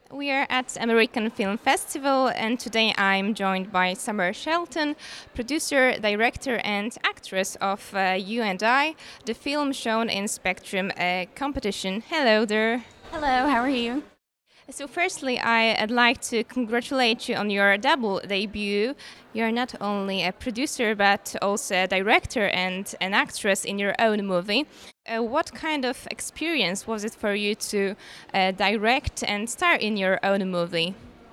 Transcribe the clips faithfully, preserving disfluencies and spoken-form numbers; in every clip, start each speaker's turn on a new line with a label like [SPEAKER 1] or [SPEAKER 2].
[SPEAKER 1] We are at American Film Festival, and today I'm joined by Summer Shelton, producer, director, and actress of uh, You and I, the film shown in Spectrum uh, competition. Hello there.
[SPEAKER 2] Hello, how are you?
[SPEAKER 1] So, firstly, I'd like to congratulate you on your double debut. You're not only a producer, but also a director and an actress in your own movie. Uh, what kind of experience was it for you to uh, direct and star in your own movie?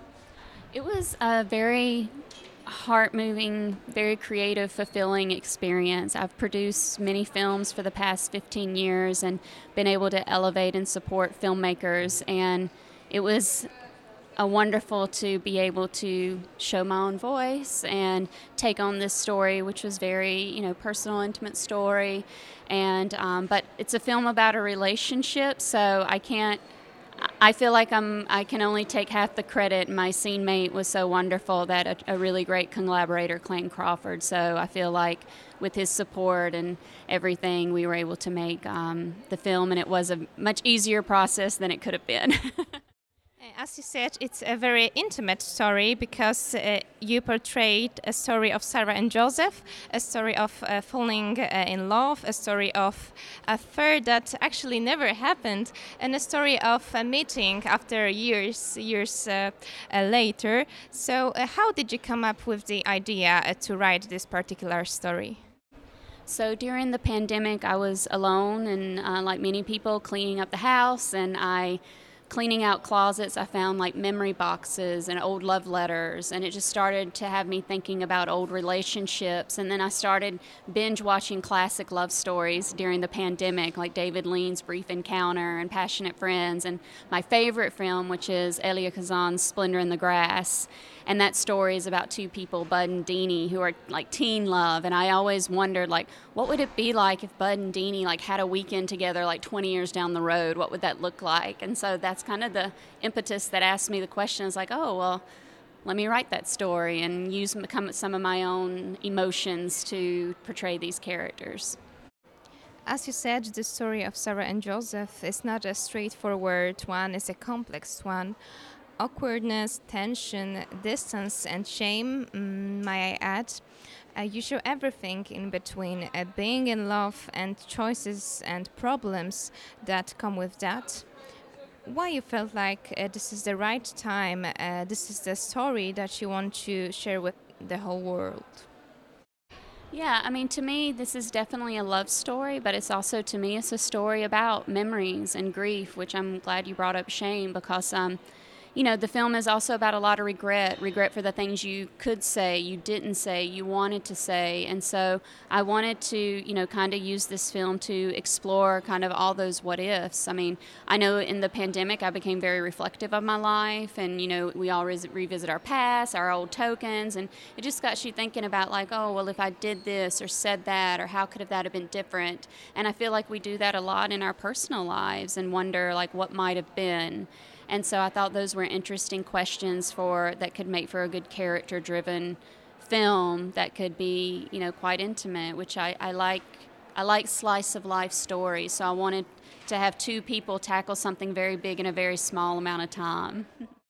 [SPEAKER 2] It was a very heart moving, very creative, fulfilling experience. I've produced many films for the past fifteen years and been able to elevate and support filmmakers, and it was a wonderful to be able to show my own voice and take on this story, which was very, you know, personal, intimate story. And um, but it's a film about a relationship, so I can't. I feel like I'm. I can only take half the credit. My scene mate was so wonderful, that a, a really great collaborator, Clayton Crawford. So I feel like with his support and everything, we were able to make um, the film, and it was a much easier process than it could have been.
[SPEAKER 1] As you said, it's a very intimate story because uh, you portrayed a story of Sarah and Joseph, a story of uh, falling uh, in love, a story of affair that actually never happened, and a story of a meeting after years, years uh, uh, later. So, uh, how did you come up with the idea uh, to write this particular story?
[SPEAKER 2] So during the pandemic, I was alone and, uh, like many people, cleaning up the house, and I cleaning out closets, I found like memory boxes and old love letters, and it just started to have me thinking about old relationships. And then I started binge watching classic love stories during the pandemic, like David Lean's Brief Encounter and Passionate Friends, and my favorite film, which is Elia Kazan's Splendor in the Grass. And that story is about two people, Bud and Deanie, who are like teen love. And I always wondered, like, what would it be like if Bud and Deanie like had a weekend together, like twenty years down the road? What would that look like? And so that's kind of the impetus that asked me the question. Is like, oh well, let me write that story and use some of my own emotions to portray these characters.
[SPEAKER 1] As you said, the story of Sarah and Joseph is not a straightforward one; it's a complex one. Awkwardness, tension, distance, and shame, mm, may I add. Uh, you show everything in between, uh, being in love and choices and problems that come with that. Why you felt like uh, this is the right time, uh, this is the story that you want to share with the whole world?
[SPEAKER 2] Yeah, I mean, to me, this is definitely a love story, but it's also, to me, it's a story about memories and grief, which I'm glad you brought up shame, because um, you know, the film is also about a lot of regret, regret for the things you could say, you didn't say, you wanted to say. And so I wanted to, you know, kind of use this film to explore kind of all those what ifs. I mean, I know in the pandemic I became very reflective of my life, and, you know, we all re- revisit our past, our old tokens, and it just got you thinking about like, oh, well, if I did this or said that, or how could have that have been different? And I feel like we do that a lot in our personal lives and wonder like what might have been. And so I thought those were interesting questions for that could make for a good character-driven film that could be, you know, quite intimate, which I, I like. I like slice of life stories, so I wanted to have two people tackle something very big in a very small amount of time.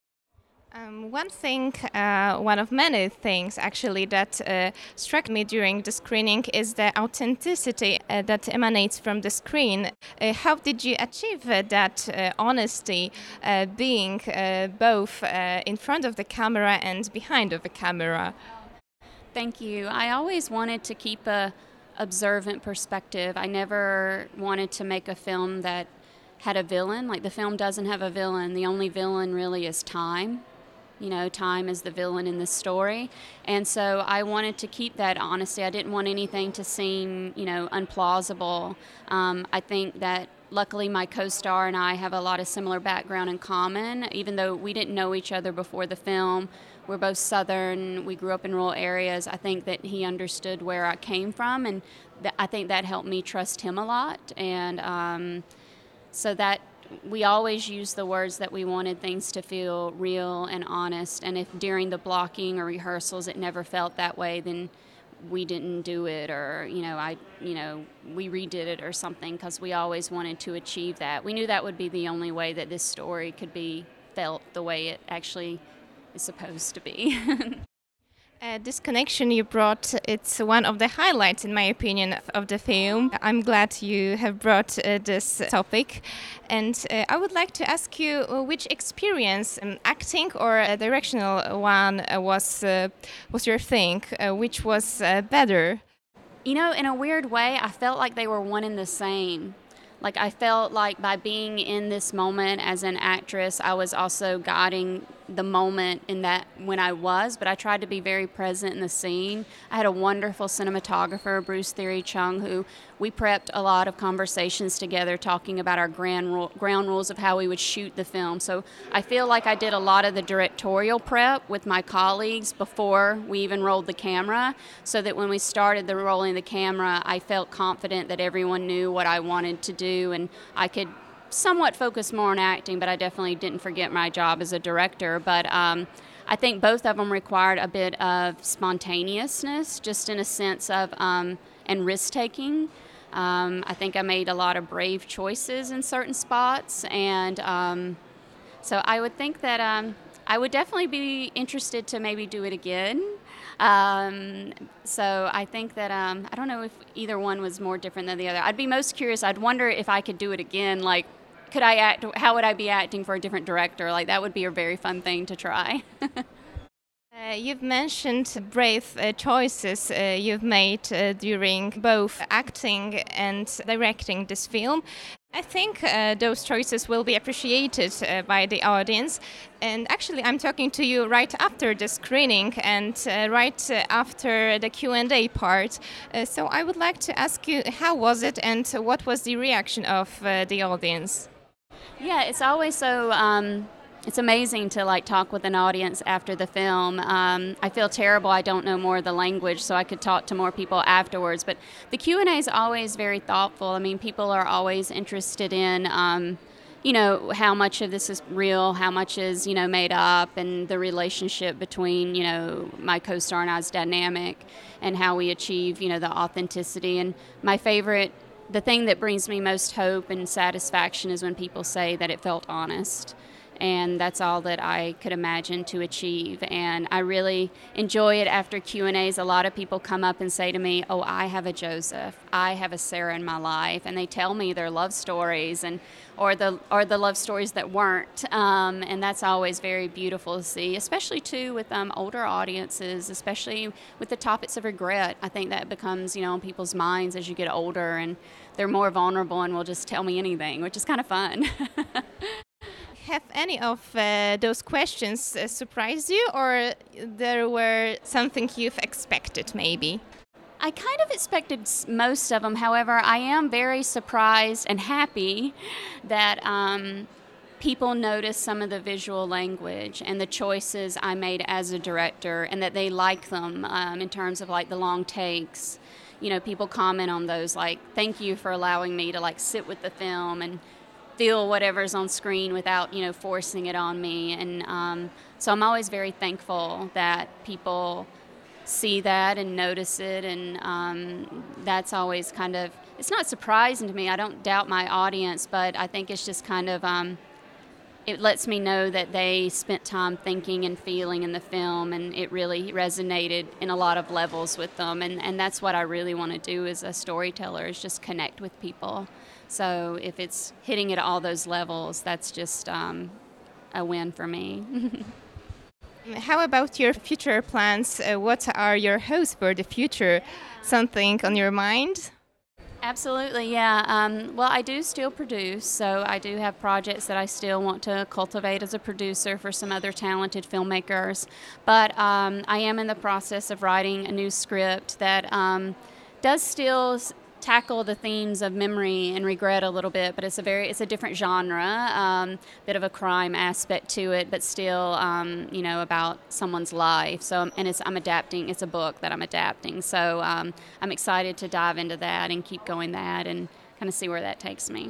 [SPEAKER 1] Um, one thing, uh, one of many things actually that uh, struck me during the screening is the authenticity uh, that emanates from the screen. Uh, how did you achieve uh, that uh, honesty, uh, being uh, both uh, in front of the camera and behind of the camera?
[SPEAKER 2] Thank you. I always wanted to keep a observant perspective. I never wanted to make a film that had a villain. Like, the film doesn't have a villain. The only villain really is time. You know, time is the villain in this story. And so I wanted to keep that honesty. I didn't want anything to seem, you know, unplausible. Um, I think that luckily my co-star and I have a lot of similar background in common. Even though we didn't know each other before the film, we're both Southern, we grew up in rural areas. I think that he understood where I came from, and th- I think that helped me trust him a lot. And um, so that we always used the words that we wanted things to feel real and honest. And if during the blocking or rehearsals it never felt that way, then we didn't do it, or, you know, I, you know, we redid it or something, because we always wanted to achieve that. We knew that would be the only way that this story could be felt the way it actually is supposed to be.
[SPEAKER 1] Uh, this connection you brought, it's one of the highlights, in my opinion, of the film. I'm glad you have brought uh, this topic. And uh, I would like to ask you uh, which experience, um, acting or a directional one, uh, was, uh, was your thing? Uh, which was uh, better?
[SPEAKER 2] You know, in a weird way, I felt like they were one and the same. Like, I felt like by being in this moment as an actress, I was also guiding the moment in that when I was, but I tried to be very present in the scene. I had a wonderful cinematographer, Bruce Theory Chung, who we prepped a lot of conversations together talking about our grand ru- ground rules of how we would shoot the film. So I feel like I did a lot of the directorial prep with my colleagues before we even rolled the camera, so that when we started the rolling the camera, I felt confident that everyone knew what I wanted to do, and I could somewhat focus more on acting, but I definitely didn't forget my job as a director. But um, I think both of them required a bit of spontaneousness, just in a sense of, um, and risk-taking. Um, I think I made a lot of brave choices in certain spots, and um, so I would think that um, I would definitely be interested to maybe do it again. Um, so I think that, um, I don't know if either one was more different than the other. I'd be most curious, I'd wonder if I could do it again, like, could I act, how would I be acting for a different director? Like, that would be a very fun thing to try.
[SPEAKER 1] Uh, you've mentioned brave uh, choices uh, you've made uh, during both acting and directing this film. I think uh, those choices will be appreciated uh, by the audience. And actually, I'm talking to you right after the screening and uh, right uh, after the Q and A part. Uh, so I would like to ask you, how was it and what was the reaction of uh, the audience?
[SPEAKER 2] Yeah, it's always so... Um It's amazing to like talk with an audience after the film. Um, I feel terrible I don't know more of the language, so I could talk to more people afterwards. But the Q and A is always very thoughtful. I mean, people are always interested in, um, you know, how much of this is real, how much is, you know, made up, and the relationship between, you know, my co-star and I's dynamic, and how we achieve, you know, the authenticity. And my favorite, the thing that brings me most hope and satisfaction is when people say that it felt honest. And that's all that I could imagine to achieve. And I really enjoy it after Q and A's. A lot of people come up and say to me, oh, I have a Joseph, I have a Sarah in my life. And they tell me their love stories, and or the or the love stories that weren't. Um, and that's always very beautiful to see, especially, too, with um, older audiences, especially with the topics of regret. I think that becomes, you know, on people's minds as you get older, and they're more vulnerable and will just tell me anything, which is kind of fun.
[SPEAKER 1] Have any of uh, those questions uh, surprised you, or there were something you've expected maybe?
[SPEAKER 2] I kind of expected most of them. However, I am very surprised and happy that um, people notice some of the visual language and the choices I made as a director, and that they like them um, in terms of like the long takes. You know, people comment on those, like, thank you for allowing me to like sit with the film and feel whatever's on screen without, you know, forcing it on me. And um, so I'm always very thankful that people see that and notice it. And um, that's always kind of, it's not surprising to me. I don't doubt my audience, but I think it's just kind of, um, it lets me know that they spent time thinking and feeling in the film, and it really resonated in a lot of levels with them. And, and that's what I really want to do as a storyteller, is just connect with people. So if it's hitting at all those levels, that's just um, a win for me.
[SPEAKER 1] How about your future plans? Uh, what are your hopes for the future? Something on your mind?
[SPEAKER 2] Absolutely, yeah. Um, well, I do still produce, so I do have projects that I still want to cultivate as a producer for some other talented filmmakers. But um, I am in the process of writing a new script that um, does still tackle the themes of memory and regret a little bit, but it's a very it's a different genre, um, bit of a crime aspect to it, but still, um, you know, about someone's life. So, and it's I'm adapting. It's a book that I'm adapting. So um, I'm excited to dive into that and keep going that and kind of see where that takes me.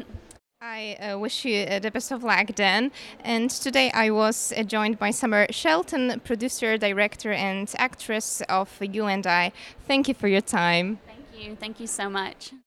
[SPEAKER 1] I uh, wish you uh, the best of luck then. And today I was uh, joined by Summer Shelton, producer, director, and actress of You and I. Thank you for your time.
[SPEAKER 2] Thank you. Thank you so much.